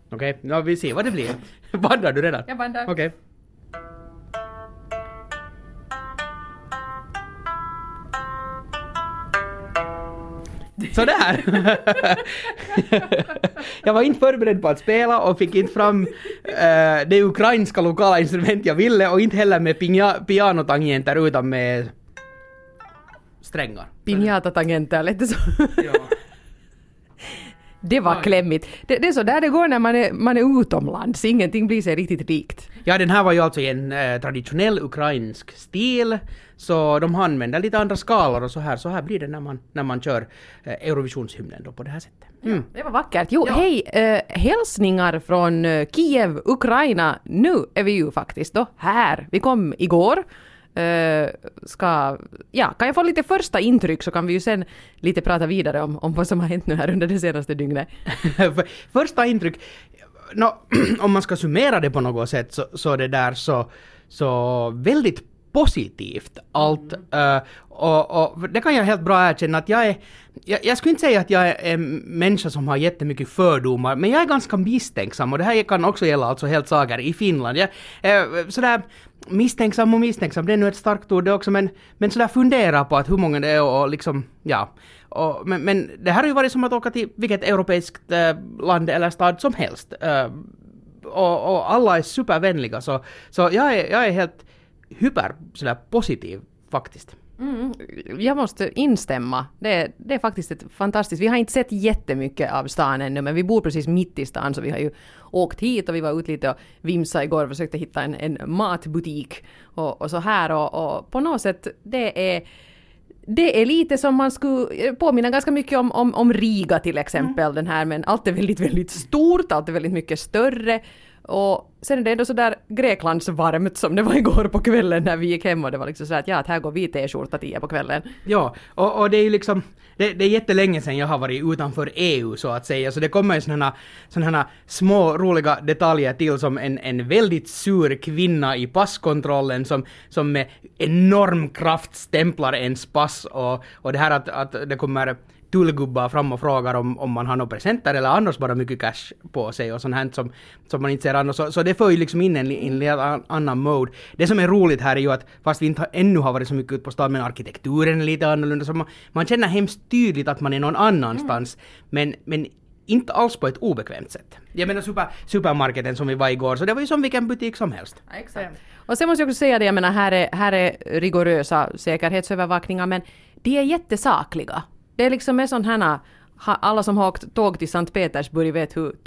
Okej, ja, vi ser vad det blir. Bandar du redan? Jag bandar. Okej. Sådär! Jag var inte förberedd på att spela och fick inte fram det ukrainska lokala instrument jag ville och inte heller med pianotangenter utan med strängar. Piñata-tangenter, lite så. Ja. Det var klämmigt. Det är så där det går när man är utomlands. Ingenting blir sig riktigt rikt. Ja, den här var ju alltså i en traditionell ukrainsk stil. Så de använder lite andra skalor och så här blir det när man kör Eurovisionshymnen då på det här sättet. Ja, det var vackert. Jo, hej, hälsningar från Kiev, Ukraina. Nu är vi ju faktiskt då här. Vi kom igår. Kan jag få lite första intryck så kan vi ju sen lite prata vidare om vad som har hänt nu här under det senaste dygnet. Första intryck, om man ska summera det på något sätt så det där så väldigt positivt allt. Och det kan jag helt bra erkänna att jag skulle inte säga att jag är en människa som har jättemycket fördomar, men jag är ganska misstänksam och det här kan också gälla alltså helt saker i Finland. Jag sådär misstänksam, det är nu ett starkt ord det också, men sådär fundera på att hur många det är och liksom, ja. Men det här har ju varit som att åka till vilket europeiskt land eller stad som helst. Och alla är supervänliga så jag är helt hyper sådär positiv faktiskt. Jag måste instämma. Det är faktiskt ett fantastiskt. Vi har inte sett jättemycket av stan ännu, men vi bor precis mitt i stan så vi har ju åkt hit och vi var ut lite och vimsa igår och försökte hitta en matbutik och så här och på något sätt det är lite som man skulle påminna ganska mycket om Riga till exempel den här, men allt är väldigt, väldigt stort, allt är väldigt mycket större. Och sen är det ändå så där Greklands varmt som det var igår på kvällen när vi gick hem och det var liksom så att här går vi t-skjorta 10 på kvällen. Ja, och det är ju liksom det är jättelänge sedan jag har varit utanför EU så att säga, så det kommer ju sådana små roliga detaljer till som en väldigt sur kvinna i passkontrollen som med enorm kraft stämplar ens pass och det här att det kommer tullgubbar fram och frågar om man har några presenter eller annars bara mycket cash på sig och sånt här som man inte ser annars. Så det får ju liksom in en annan mode. Det som är roligt här är ju att fast vi inte ännu har varit så mycket ut på stan, men arkitekturen är lite annorlunda så man känner hemskt tydligt att man är någon annanstans men inte alls på ett obekvämt sätt. Jag menar supermarketen som vi var igår, så det var ju som vilken butik som helst. Ja, exakt. Och sen måste jag också säga det, jag menar här är rigorösa säkerhetsövervakningar men de är jättesakliga. Det är liksom med sån här, alla som har åkt tåg till Sankt Petersburg vet hur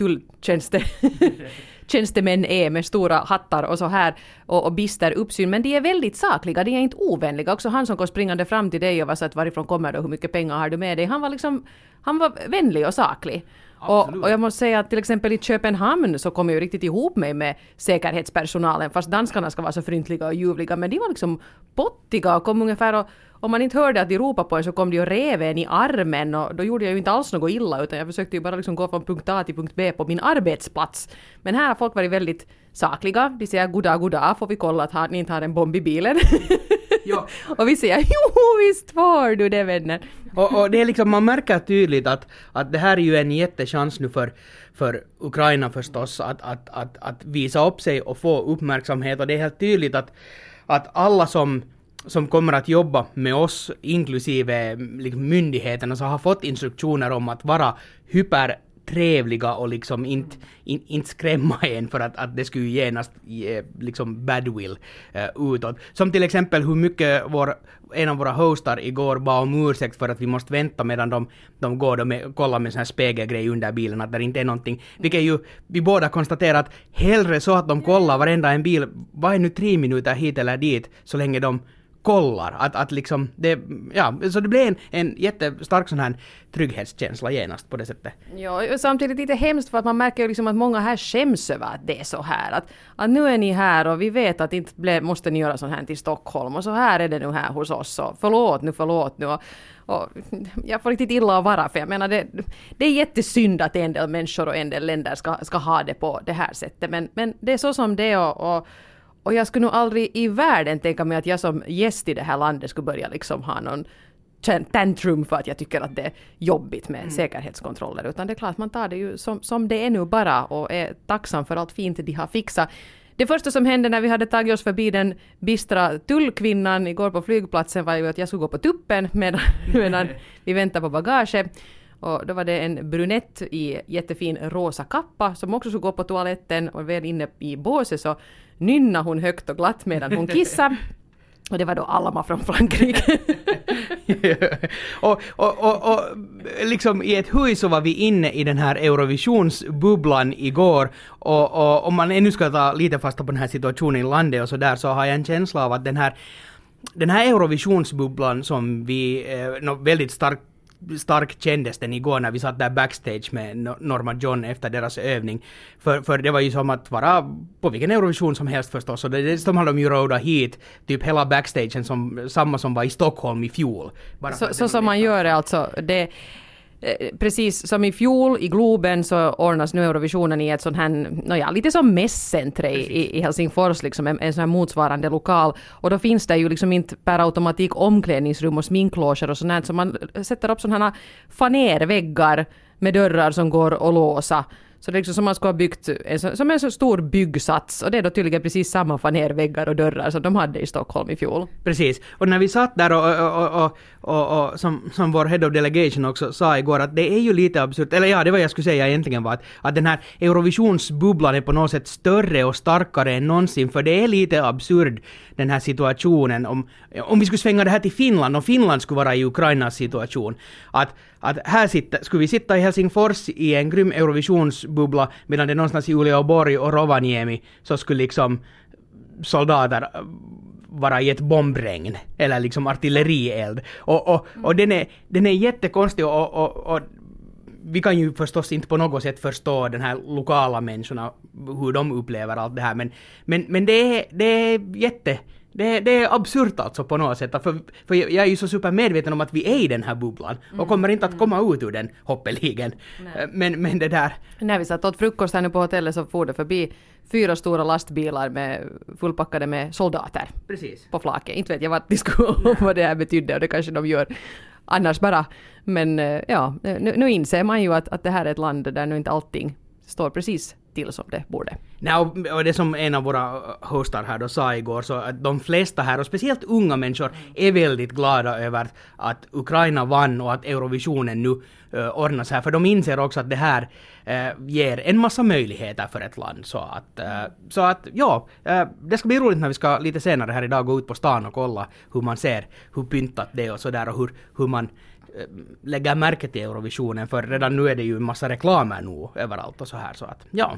tulltjänstemän är med stora hattar och så här och bister uppsyn, men de är väldigt sakliga, de är inte ovänliga. Också han som kom springande fram till dig och var så att varifrån kommer du, hur mycket pengar har du med dig, han var vänlig och saklig. Och jag måste säga att till exempel i Köpenhamn så kom jag ju riktigt ihop mig med säkerhetspersonalen, fast danskarna ska vara så fryntliga och ljuvliga, men de var liksom pottiga och kom ungefär och om man inte hörde att de ropade på en så kom de och rev en i armen och då gjorde jag ju inte alls något illa utan jag försökte ju bara liksom gå från punkt A till punkt B på min arbetsplats. Men här har folk varit väldigt sakliga. De säger goddag, får vi kolla att ni inte har en bomb i bilen? Ja. Och vi säger jo visst får du det vänner. Och det är liksom, man märker tydligt att det här är ju en jättechans nu för Ukraina förstås att visa upp sig och få uppmärksamhet och det är helt tydligt att alla som kommer att jobba med oss, inklusive liksom myndigheterna, så har fått instruktioner om att vara hypertrevliga och liksom inte skrämma en för att det skulle genast liksom badwill utåt. Som till exempel hur mycket en av våra hostar igår bad om ursäkt för att vi måste vänta medan de går och kollar med sån här spegelgrej under bilen att det inte är någonting. Vilket ju vi båda konstaterar att hellre så att de kollar varenda en bil, vad är nu 3 minuter hit eller dit så länge de kollar att liksom det, ja, så det blir en jättestark sån här trygghetskänsla genast på det sättet. Ja, samtidigt lite hemskt för att man märker ju liksom att många här skäms över att det är så här att nu är ni här och vi vet att inte måste ni göra sån här till Stockholm och så här är det nu här hos oss och förlåt nu och jag får riktigt illa att vara för jag menar det är jättesynd att en del människor och en del länder ska ha det på det här sättet men det är så som det är och jag skulle nog aldrig i världen tänka mig att jag som gäst i det här landet skulle börja liksom ha någon tantrum för att jag tycker att det är jobbigt med säkerhetskontroller, utan det är klart man tar det ju som det är nu bara och är tacksam för allt fint de har fixat. Det första som hände när vi hade tagit oss förbi den bistra tullkvinnan igår på flygplatsen var ju att jag skulle gå på tuppen medan vi väntar på bagage. Och då var det en brunett i jättefin rosa kappa som också skulle gå på toaletten, och väl inne i båset så nynnade hon högt och glatt medan hon kissade. Och det var då Alma från Frankrike. och liksom i ett hus så var vi inne i den här Eurovisionsbubblan igår, och om man ännu ska ta lite fasta på den här situationen i landet och så där, så har jag en känsla av att den här Eurovisionsbubblan som vi väldigt starkt kändes den igår när vi satt där backstage med Norma John efter deras övning. För det var ju som att vara på vilken Eurovision som helst förstås. Och dessutom hade de ju rådat hit typ hela backstagen samma som var i Stockholm i fjol. Så som man gör alltså. Precis som i fjol i Globen så ordnas nu Eurovisionen i ett sånt här, lite som mässcentre i Helsingfors, liksom en sån här motsvarande lokal. Och då finns det ju liksom inte per automatik omklädningsrum och sminkloger och sånt här, så man sätter upp sådana här fanerväggar med dörrar som går att låsa. Så det är liksom som man ska ha byggt som en så stor byggsats, och det är då tydligen precis samma fanerväggar och dörrar som de hade i Stockholm i fjol. Precis, och när vi satt där och som vår head of delegation också sa igår, att det är ju lite absurt, eller ja, det var jag skulle säga egentligen var att den här Eurovisionsbubblan är på något sätt större och starkare än någonsin, för det är lite absurd den här situationen om vi skulle svänga det här till Finland, och Finland skulle vara i Ukrainas situation, att här skulle vi sitta i Helsingfors i en grym Eurovisionsbubbla, medan det någonstans i Uleåborg och Rovaniemi så skulle liksom soldater vara i ett bombregn eller liksom artillerield, och den är jättekonstig, och vi kan ju förstås inte på något sätt förstå den här lokala människorna hur de upplever allt det här, men det är det är absurt alltså på något sätt, för jag är ju så supermedveten om att vi är i den här bubblan och kommer inte att komma ut ur den hoppeligen. Men det där... När vi satt åt frukost här nu på hotellet så får det förbi 4 stora lastbilar fullpackade med soldater. Precis. På flaket. Inte vet jag vad det här betydde, och det kanske de gör annars bara. Men ja, nu inser man ju att det här är ett land där nu inte allting står precis till som det borde. Och det som en av våra hostar här då sa igår, så att de flesta här, och speciellt unga människor, är väldigt glada över att Ukraina vann och att Eurovisionen nu ordnas här, för de inser också att det här ger en massa möjligheter för ett land. Så att det ska bli roligt när vi ska lite senare här idag gå ut på stan och kolla hur man ser hur pyntat det är och sådär, och hur man lägger märke till Eurovisionen, för redan nu är det ju en massa reklamer nu överallt och så här, så att ja.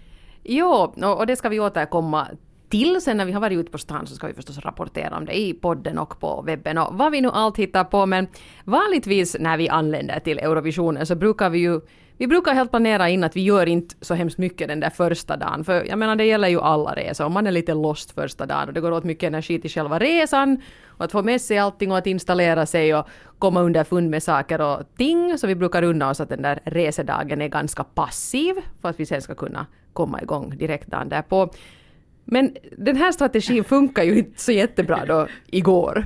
Jo, och det ska vi återkomma till sen när vi har varit ute på stan, så ska vi förstås rapportera om det i podden och på webben och vad vi nu allt hittar på, men vanligtvis när vi anländer till Eurovisionen så brukar vi brukar helt planera in att vi gör inte så hemskt mycket den där första dagen, för jag menar det gäller ju alla resor, om man är lite lost första dagen och det går åt mycket energi till själva resan och att få med sig allting och att installera sig och komma underfund med saker och ting, så vi brukar unna oss att den där resedagen är ganska passiv för att vi sen ska kunna komma igång direkt dagen därpå. Men den här strategin funkar ju inte så jättebra då igår.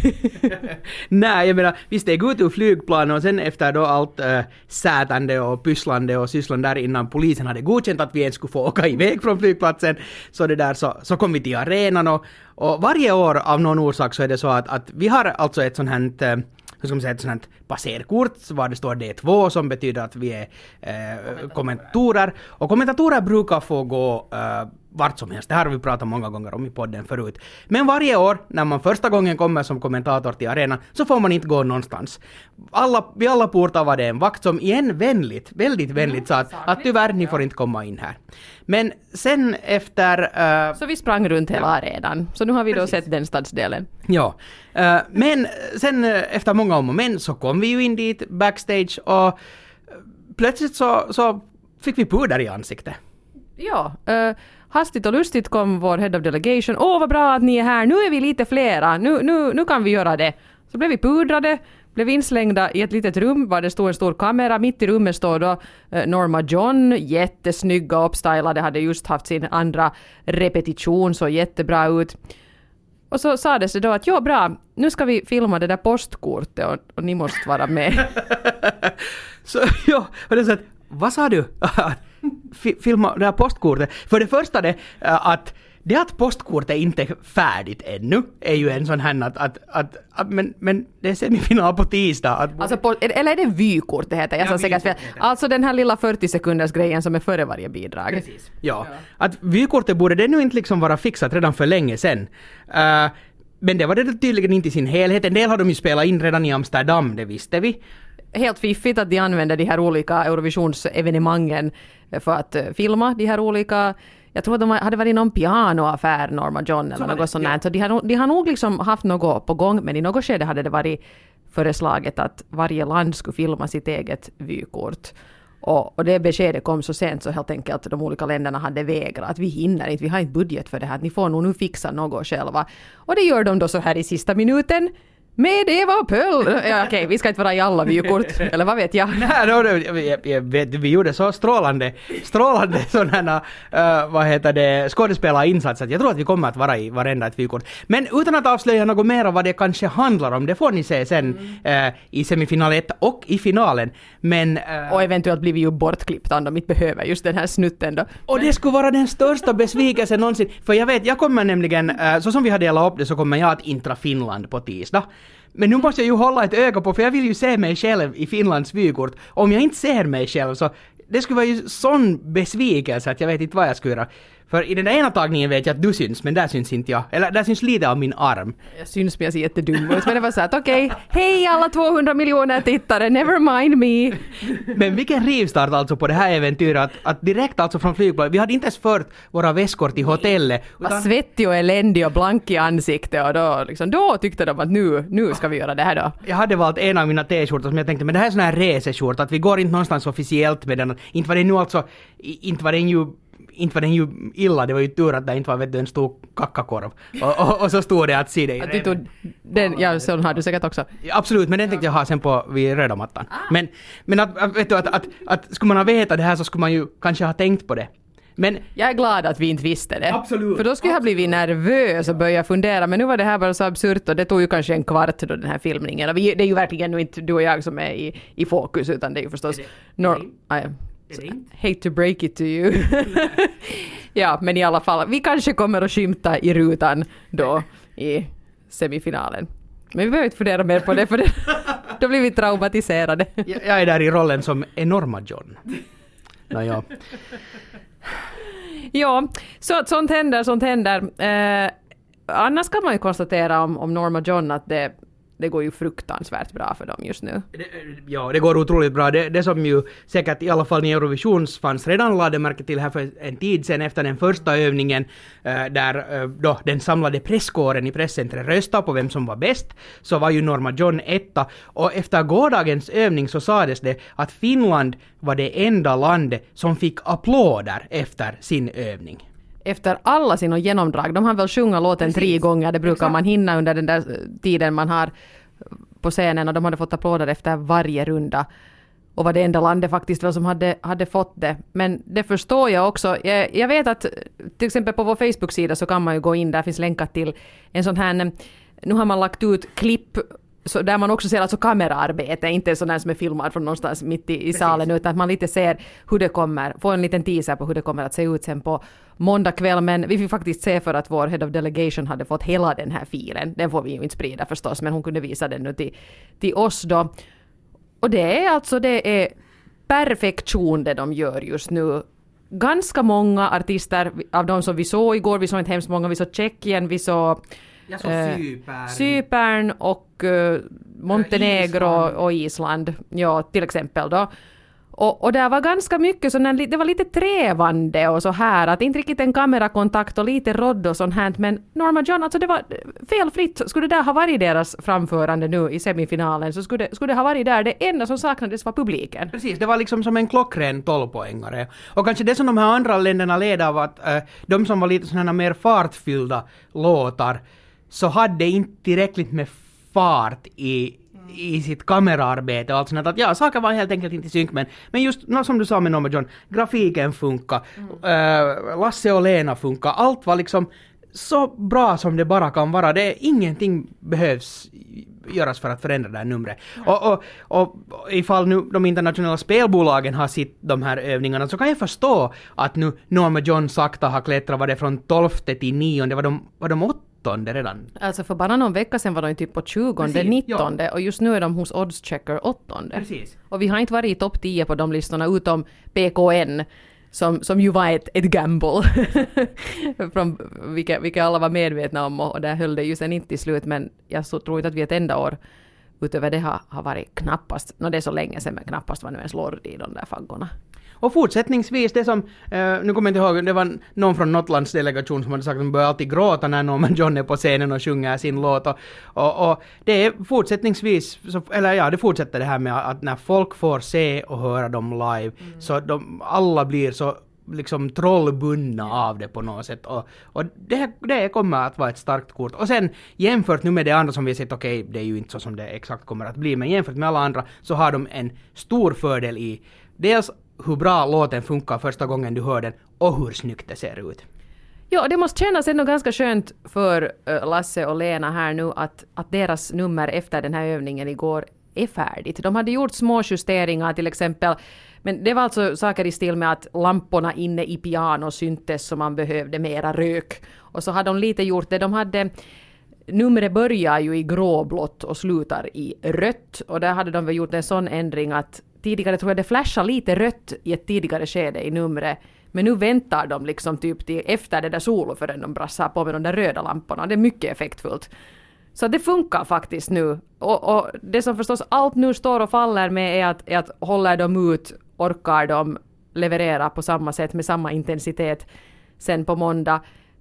Nej, jag menar, vi steg ut ur flygplanen och sen efter då allt sätande och pysslande och sysslan där innan polisen hade godkänt att vi ens skulle få åka iväg från flygplatsen, så kom vi till arenan och varje år av någon orsak så är det så att vi har alltså ett sånt här ett sånt passerkort var det står D2 som betyder att vi är kommentatorer, och kommentatorer brukar få gå vart som helst. Det här har vi pratat många gånger om i podden förut. Men varje år när man första gången kommer som kommentator till arenan så får man inte gå någonstans. Vid alla portar var det en vakt som igen väldigt vänligt sa att tyvärr ni får inte komma in här. Men sen efter... Så vi sprang runt hela arenan. Så nu har vi då sett den stadsdelen. Ja. Men sen efter många om och men så kom vi ju in dit backstage och plötsligt så fick vi puder i ansiktet. Ja, hastigt och lustigt kom vår head of delegation. Vad bra att ni är här. Nu är vi lite flera. Nu kan vi göra det. Så blev vi pudrade, blev inslängda i ett litet rum var det stod en stor kamera. Mitt i rummet står då Norma John, jättesnygga uppstylade, hade just haft sin andra repetition, så jättebra ut. Och så sades det då att ja, bra, nu ska vi filma det där postkortet och ni måste vara med. Så ja, och det så att, vad sa du? Filma det här postkortet. För det första det att postkortet inte är färdigt ännu är ju en sån här men det är semifinal på tisdag. Alltså eller är det vykort det heter? Jag sa säkert fel. Alltså den här lilla 40 sekunders grejen som är före varje bidrag. Precis. Ja. Att vykortet borde det nu inte liksom vara fixat redan för länge sedan. Men det var det tydligen inte i sin helhet. En del har de ju spelat in redan i Amsterdam, det visste vi. Helt fiffigt att de använder de här olika Eurovisionsevenemangen för att filma de här olika. Jag tror att de hade varit någon pianoaffär, Norma John eller något sånt. Ja. Så de har nog liksom haft något på gång, men i något skede hade det varit föreslaget att varje land skulle filma sitt eget vykort. Och det beskedet kom så sent så helt enkelt att de olika länderna hade vägrat att vi hinner inte, vi har inte budget för det här, att ni får nog nu fixa något själva. Och det gör de då så här i sista minuten. Med Eva Pöll! Ja, okej, vi ska inte vara i alla vykort, eller vad vet jag? Nej, vi gjorde så strålande sådana, skådespelarinsatser. Jag tror att vi kommer att vara i varenda ett vykort. Men utan att avslöja något mer vad det kanske handlar om, det får ni se sen i semifinal 1 och i finalen. Men, och eventuellt blir vi ju bortklippta om de inte behöver just den här snutten då. Och det skulle vara den största besvikelsen någonsin. För jag kommer nämligen, så som vi har delat upp det så kommer jag att intra Finland på tisdag. Men nu måste jag ju hålla ett öga på, för jag vill ju se mig själv i Finlands vykort. Om jag inte ser mig själv så det skulle vara ju sån besvikelse att jag vet inte vad jag ska göra. För i den ena tagningen vet jag att du syns, men där syns inte jag. Eller där syns lite av min arm. Jag syns men jag ser jättedum ut. Men det var så att okej, hej alla 200 miljoner tittare, never mind me. Men vilken rivstart alltså på det här äventyret. Att direkt alltså från flygplanet, vi hade inte ens fört våra väskor till hotellet. Utan... svettig och eländig och blank i ansiktet. Och då tyckte de att nu ska vi göra det här då. Jag hade valt en av mina t-skjortor som jag tänkte, men det här är sån här reseskjort. Att vi går inte någonstans officiellt med den. Inte var det nu alltså, inte var den ju illa, det var ju tur att det inte var en stor kackakorv. Och så stod det att se det. Att du tog den, ja, så har du säkert också. Absolut, men den tänkte jag ha sen vid röda mattan. Men vet du, att skulle man ha vetat det här så skulle man ju kanske ha tänkt på det. Men jag är glad att vi inte visste det. Absolut. För då skulle jag ha blivit nervös och börja fundera. Men nu var det här bara så absurt och det tog ju kanske en kvart då den här filmningen. Och det är ju verkligen nu inte du och jag som är i fokus utan det är ju förstås... hate to break it to you. Ja, men i alla fall, vi kanske kommer att skymta i rutan då i semifinalen. Men vi behöver inte fundera mer på det för då blir vi traumatiserade. Jag är där i rollen som enorma John. Ja. Ja, så att sånt händer. Annars kan man ju konstatera om Norma John att det går ju fruktansvärt bra för dem just nu. Ja, det går otroligt bra. Det som ju säkert i alla fall ni Eurovisionsfans redan lade märke till här för en tid sedan efter den första övningen där då den samlade presskåren i presscentret röstade på vem som var bäst, så var ju Norma John etta. Och efter gårdagens övning så sades det att Finland var det enda landet som fick applåder efter sin övning. Efter alla sina genomdrag. De har väl sjunga låten 3 gånger. Det brukar man hinna under den där tiden man har på scenen. Och de hade fått applåder efter varje runda. Och var det enda landet faktiskt väl som hade fått det. Men det förstår jag också. Jag vet att till exempel på vår Facebook-sida så kan man ju gå in. Där finns länkat till en sån här... Nu har man lagt ut klipp så där man också ser alltså kameraarbete, inte sån där som är filmad från någonstans mitt i salen, utan att man lite ser hur det kommer, får en liten teaser på hur det kommer att se ut sen på måndag kväll, men vi fick faktiskt se för att vår head of delegation hade fått hela den här filen. Den får vi ju inte sprida förstås, men hon kunde visa den nu till oss då. Och det är perfektion det de gör just nu. Ganska många artister av de som vi såg igår, vi såg inte hemskt många, vi såg Tjeckien, vi såg Cypern och Montenegro och Island, ja, till exempel då. Och det var ganska mycket sån, det var lite trävande och så här, att inte riktigt en kamerakontakt och lite rodd och sånt här, men Norma John, alltså det var felfritt. Skulle det där ha varit deras framförande nu i semifinalen så skulle det ha varit där. Det enda som saknades var publiken. Precis, det var liksom som en klockren 12-poängare. Och kanske det som de här andra länderna led av att de som var lite sådana mer fartfyllda låtar så hade inte tillräckligt med fart i sitt kameraarbete och allt sånt att ja, saker var helt enkelt inte i synk, men just som du sa med Norma John, grafiken funkar, Lasse och Lena funkar, allt var liksom så bra som det bara kan vara. Ingenting behövs göras för att förändra det här numret. Och ifall nu de internationella spelbolagen har sitt de här övningarna så kan jag förstå att nu Norma John sakta har klättrat, var det från 12:e till 9:e, var de 8:e redan? Alltså för bara någon vecka sedan var de typ på 20:e, 19:e och just nu är de hos Oddschecker 8:e. Precis. Och vi har inte varit i topp 10 på de listorna utom PKN som ju var ett gamble från vilka alla var medvetna om och där höll det ju sen inte i slut, men jag tror inte att vi ett enda år utöver det har varit knappast, det är så länge sedan men knappast var nu ens lord i de där faggorna. Och fortsättningsvis, det som, nu kommer jag inte ihåg, det var någon från Notlands delegation som hade sagt att de börjar alltid gråta när Norman John är på scenen och sjunger sin låt. Och det är fortsättningsvis, det fortsätter det här med att när folk får se och höra dem live, så alla blir så liksom trollbundna av det på något sätt. Och det kommer att vara ett starkt kort. Och sen jämfört nu med det andra som vi har sett, okej, det är ju inte så som det exakt kommer att bli, men jämfört med alla andra så har de en stor fördel i dels hur bra låten funkar första gången du hör den och hur snyggt det ser ut. Ja, det måste kännas ändå ganska skönt för Lasse och Lena här nu att deras nummer efter den här övningen igår är färdigt. De hade gjort små justeringar till exempel, men det var alltså saker i stil med att lamporna inne i piano syntes så man behövde mera rök. Och så hade de lite gjort det. De hade numret börjar ju i gråblått och slutar i rött och där hade de väl gjort en sån ändring att tidigare tror jag det flashar lite rött i ett tidigare skede i numret. Men nu väntar de liksom typ till efter det där solo förrän de brassar på med de där röda lamporna. Det är mycket effektfullt. Så det funkar faktiskt nu. Och det som förstås allt nu står och faller med är att håller de ut, orkar de leverera på samma sätt med samma intensitet sen på måndag.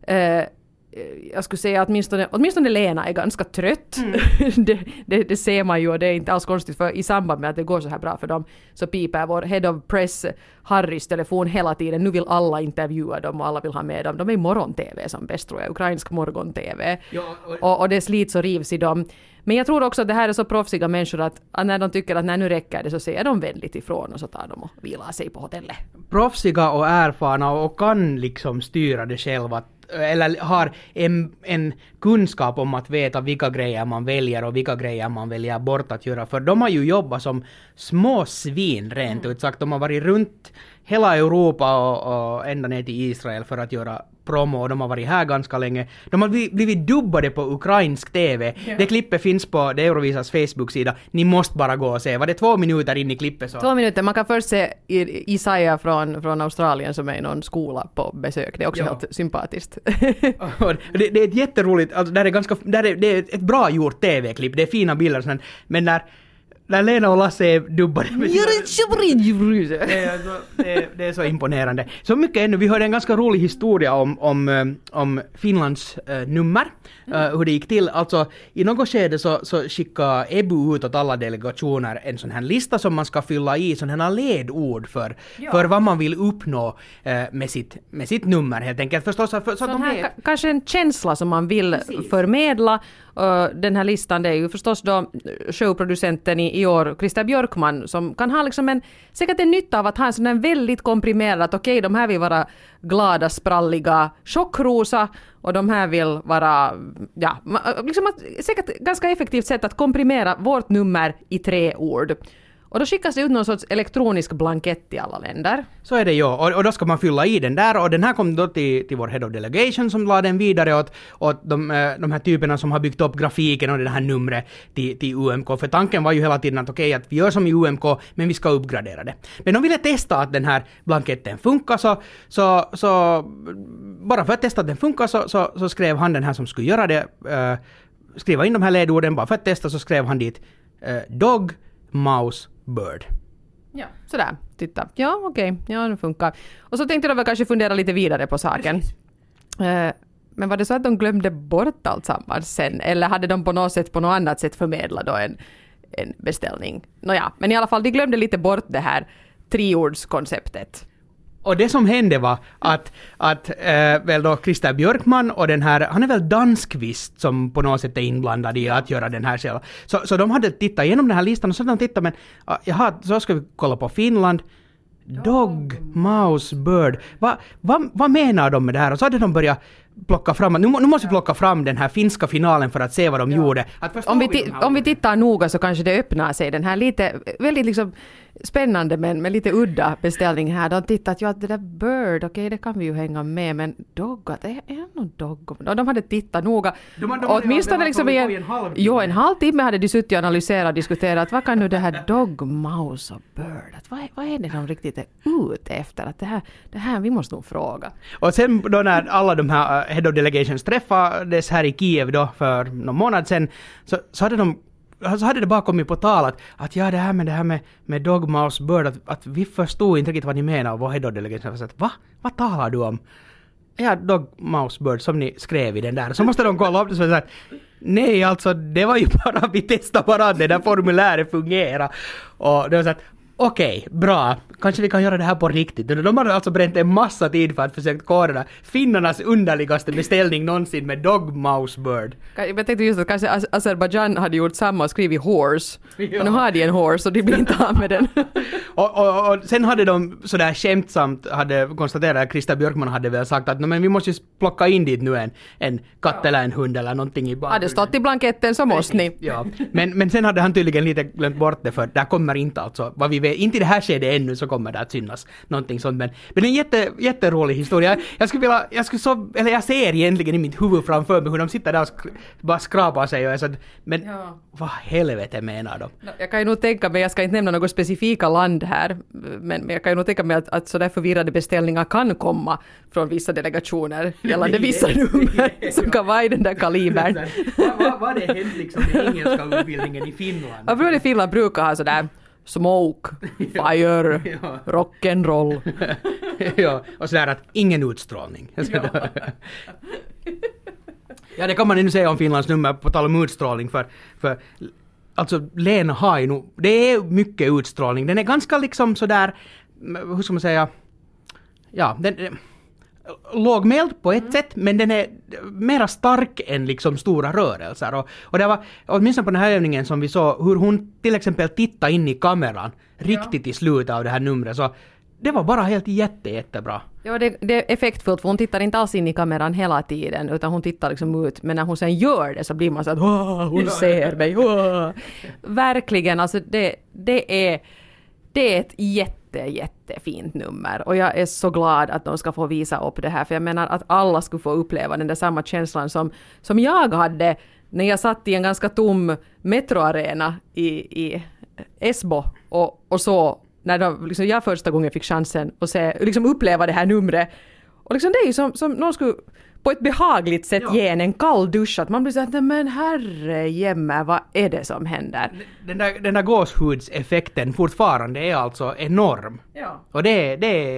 Jag skulle säga att åtminstone Lena är ganska trött. Det ser man ju och det är inte alls konstigt för i samband med att det går så här bra för dem så piper vår head of press Harrys telefon hela tiden. Nu vill alla intervjua dem och alla vill ha med dem. De är i morgon-tv som bäst tror jag, ukrainsk morgon-tv. Ja, och det slits och rivs i dem. Men jag tror också att det här är så proffsiga människor att när de tycker att när nu räcker det så säger de vänligt ifrån och så tar de och vilar sig på hotellet. Proffsiga och erfarna och kan liksom styra det själva eller har en kunskap om att veta vilka grejer man väljer och vilka grejer man väljer bort att göra. För de har ju jobbat som små svin rent ut sagt. De har varit runt hela Europa och ända ner till Israel för att göra promo och de har varit här ganska länge. De har blivit dubbade på ukrainsk TV. Ja. Det klippet finns på det Eurovisas Facebook-sida. Ni måste bara gå och se. Var det 2 minuter in i klippet? Så? 2 minuter. Man kan först se Isaiah från Australien som är i någon skola på besök. Det är också helt sympatiskt. det är ett jätteroligt, alltså det är ett bra gjort TV-klipp. Det är fina bilder och sånt. Men när Lena och Lasse är dubbade med det är så imponerande. Så mycket ännu. Vi hörde en ganska rolig historia om Finlands nummer. Hur det gick till. Alltså i något skede så skickade EBU ut åt alla delegationer en sån här lista som man ska fylla i, sån här ledord för vad man vill uppnå med sitt nummer helt enkelt. Förstås, så att de här, kanske en känsla som man vill förmedla. Den här listan det är ju förstås då showproducenten i år, Christer Björkman, som kan ha liksom säkert en nytta av att ha en sån här väldigt komprimerad, okej, de här vill vara glada, spralliga, chockrosa och de här vill vara, liksom säkert ganska effektivt sätt att komprimera vårt nummer i 3 ord. Och då skickas det ut någon sorts elektronisk blankett i alla länder. Så är det ju. Och då ska man fylla i den där. Och den här kom då till vår Head of Delegation som la den vidare åt de här typerna som har byggt upp grafiken och det här numret till UMK. För tanken var ju hela tiden att okej, att vi gör som i UMK men vi ska uppgradera det. Men de ville testa att den här blanketten funkar så bara för att testa att den funkar så skrev han den här som skulle göra det. Skriva in de här ledorden bara för att testa så skrev han dit dog, mouse, bird. Ja, sådär. Titta. Ja, okej. Ja, det funkar. Och så tänkte de väl kanske fundera lite vidare på saken. Men var det så att de glömde bort allt sammans sen? Eller hade de på något annat sätt förmedlat då en beställning? Nåja, men i alla fall, de glömde lite bort det här 3-ordskonceptet. Och det som hände var att väl då Christer Björkman och den här, han är väl danskvist som på något sätt är inblandad i att göra den här själv. Så de hade tittat igenom den här listan och så hade de tittat, men så ska vi kolla på Finland. Dog, mouse, bird. Vad menar de med det här? Och så hade de börjat plocka fram, nu måste vi plocka fram den här finska finalen för att se vad de gjorde. Om vi tittar noga så kanske det öppnar sig den här lite, väldigt liksom spännande men med lite udda beställning här. De tittat ju att det där Bird, okej, det kan vi ju hänga med, men Dog, att är någon Dog? Och de hade tittat noga. Åtminstone liksom en halvtimme hade de suttit och analyserat och diskuterat, vad kan nu det här Dog, Mouse och Bird, att vad är det de riktigt är ute efter? Att det här vi måste nog fråga. Och sen då när alla de här Head of Delegations träffades här i Kiev då för någon månad sen, så hade det bara kommit på tal att ja, det här med Dog, Mouse, Bird, att vi förstod inte riktigt vad ni menar, och vår Head of Delegations sa att vad talar du om? Ja, Dog, Mouse, Bird som ni skrev i den där. Så måste de kolla upp det och säga att nej, alltså det var ju bara, vi testade bara det där formuläret fungerar. Och det var så att okej, bra. Kanske vi kan göra det här på riktigt. De har alltså bränt en massa tid för att försöka koda finnarnas underligaste beställning någonsin med Dog, Mouse, Bird. Jag tänkte just att kanske Azerbaijan hade gjort samma och skrivit horse. Ja. Och nu har de en horse och de blir inte av med den. och sen hade de sådär skämtsamt hade konstaterat att Krista Björkman hade väl sagt att men vi måste ju plocka in dit nu en katt eller en hund eller någonting i bakgrunden. Hade stått i blanketten så måste ni. Ja, men sen hade han tydligen lite glömt bort det, för där kommer inte alltså, vad vi vet, inte i det här skedet ännu så kommer det att synas någonting sånt, men en jätterolig historia. Jag ser egentligen i mitt huvud framför mig hur de sitter där och bara skrapar sig och är så, men vad helvete menar de? Jag kan ju nog tänka mig, jag ska inte nämna något specifika land här, men jag kan ju nog tänka mig att sådär förvirrade beställningar kan komma från vissa delegationer gällande vissa nummer som kan vara i den där kalibern. Vad det hänt liksom med engelska utbildningen i Finland? Jag tror att Finland brukar ha sådär smoke, fire, rock'n'roll. Ja, och sådär att ingen utstrålning. Ja, det kan man ju säga om Finlands nummer på tal om utstrålning, för alltså Lena har ju nog, det är mycket utstrålning. Den är ganska liksom sådär, hur ska man säga, ja, den lågmäld på ett sätt, men den är mera stark än liksom stora rörelser. Och det var åtminstone på den här övningen som vi såg hur hon till exempel tittade in i kameran riktigt i slutet av det här numret, så det var bara helt jättebra. Ja, det är effektfullt, för hon tittar inte alls in i kameran hela tiden, utan hon tittar liksom ut, men när hon sen gör det så blir man så att hon ser mig. Verkligen, alltså det är ett jättefint nummer, och jag är så glad att de ska få visa upp det här, för jag menar att alla skulle få uppleva den där samma känslan som jag hade när jag satt i en ganska tom metroarena i Esbo och så när liksom jag första gången fick chansen att liksom uppleva det här numret, och liksom det är ju som någon skulle på ett behagligt sätt ge en kall dusch, att man blir så att men herre jämme, vad är det som händer? Den där gåshudseffekten fortfarande är alltså enorm. Ja. Och det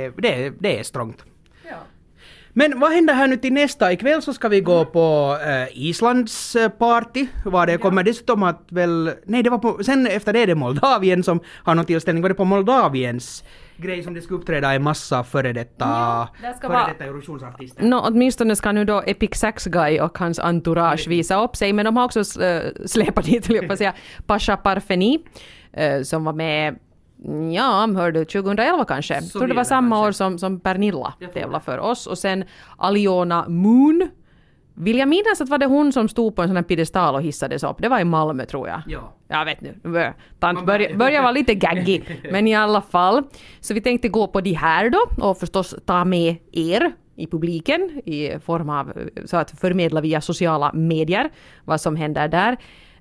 är strångt. Ja. Men vad händer här nu till nästa? Ikväll så ska vi gå på Islands party. Var det kommer dessutom att väl... Nej, det var på... Sen efter det Moldavien som har någon tillställning. Var det på Moldaviens grej som det ska uppträda en massa före detta Eurovisionsartister? Åtminstone ska nu då Epic Sax Guy och hans entourage visa upp sig. Men de har också släpat dit, vill jag säga, Pasha Parfeni som var med... Ja, hörde 2011 kanske. Jag tror det var samma år som Pernilla tävlade för oss. Och sen Aliona Moon. Vill jag minnas att var det hon som stod på en sån här piedestal och hissades upp. Det var i Malmö, tror jag. Ja. Jag vet nu. Tant börjar vara lite gaggy. Men i alla fall. Så vi tänkte gå på de här då. Och förstås ta med er i publiken. I form av så att förmedla via sociala medier vad som händer där.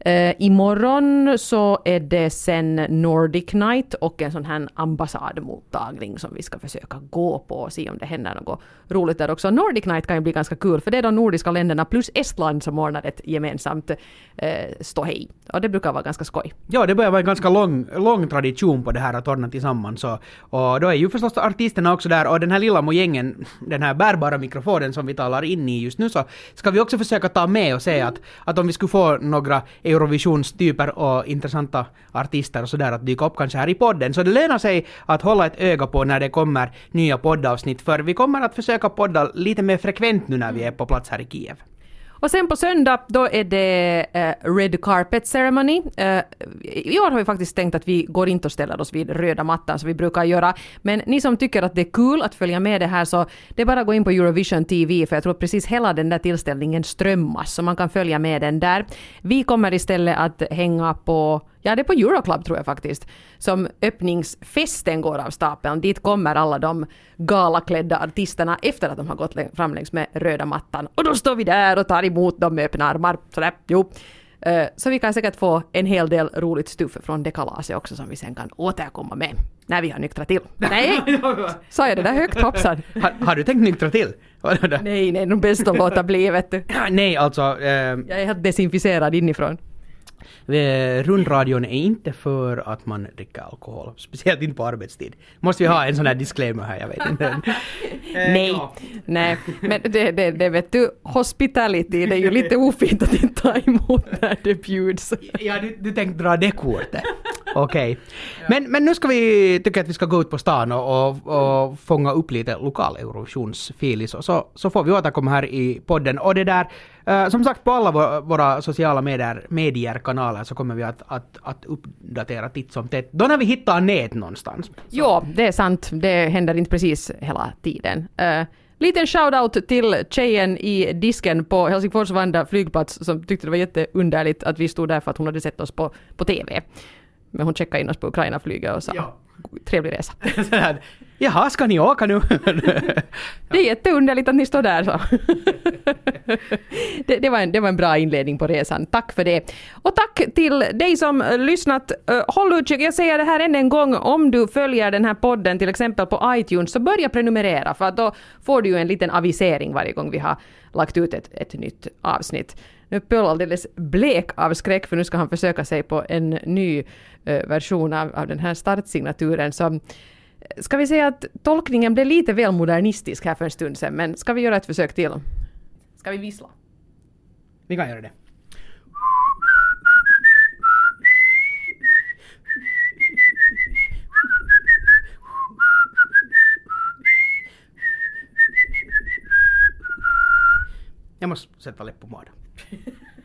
Imorgon så är det sen Nordic Night och en sån här ambassadmottagning som vi ska försöka gå på och se om det händer något roligt där också. Nordic Night kan ju bli ganska kul, för det är de nordiska länderna plus Estland som ordnar ett gemensamt ståhej. Och det brukar vara ganska skoj. Ja, det börjar vara en ganska lång tradition på det här att ordna tillsammans. Och då är ju förstås artisterna också där, och den här lilla mojängen, den här bärbara mikrofonen som vi talar in i just nu, så ska vi också försöka ta med och säga att om vi skulle få några Eurovisionstyper och intressanta artister och sådär att dyka upp kanske här i podden. Så det lönar sig att hålla ett öga på när det kommer nya poddavsnitt, för vi kommer att försöka podda lite mer frekvent nu när vi är på plats här i Kiev. Och sen på söndag då är det Red Carpet Ceremony. I år har vi faktiskt tänkt att vi går inte och ställer oss vid röda mattan som vi brukar göra. Men ni som tycker att det är kul att följa med det här, så det är bara att gå in på Eurovision TV, för jag tror att precis hela den där tillställningen strömmas, så man kan följa med den där. Vi kommer istället att hänga på, ja, det är på Euroclub tror jag faktiskt, som öppningsfesten går av stapeln. Dit kommer alla de galaklädda artisterna efter att de har gått fram längs med röda mattan. Och då står vi där och tar emot dem med öppna armar. Så vi kan säkert få en hel del roligt stuff från det kalaset också, som vi sen kan återkomma med när vi har nyktrat till. Nej, sa jag det där högt, hoppsan. Har du tänkt nyktra till? Nej, det är nog bäst att låta bli, vet du. Nej, alltså... Jag är helt desinficerad inifrån. Rundradion är inte för att man dricker alkohol, speciellt inte på arbetstid. Måste vi ha en sån här disclaimer här, jag vet inte. Nej, men det vet du, hospitality, det är ju lite ofint att inte ta emot när det bjuds. Ja, du tänkte dra det kortet. Okej. Men nu ska vi tycka att vi ska gå ut på stan och fånga upp lite lokal Eurovisionsfilis, så får vi återkomma här i podden. Och det där, som sagt, på alla våra sociala medier-kanaler så kommer vi att uppdatera titt som tätt. Då när vi hittar nät någonstans. Ja, det är sant. Det händer inte precis hela tiden. Liten shoutout till tjejen i disken på Helsingfors Vanda flygplats som tyckte det var jätteunderligt att vi stod där för att hon hade sett oss på TV. Men hon checkade in oss på Ukraina-flyget och sa trevlig resa. Jaha, ska ni åka nu? Det är jätteunderligt att ni står där. Så. det var en bra inledning på resan. Tack för det. Och tack till dig som lyssnat. Håll utkik, jag säger det här än en gång. Om du följer den här podden till exempel på iTunes, så börja prenumerera, för att då får du ju en liten avisering varje gång vi har lagt ut ett nytt avsnitt. Nu är Pöl alldeles blek av skräck, för nu ska han försöka sig på en ny version av den här startsignaturen. Så ska vi säga att tolkningen blev lite väl modernistisk här för en stund sedan, men ska vi göra ett försök till? Ska vi vissla? Vi kan göra det. Jag måste sätta läpp på maden.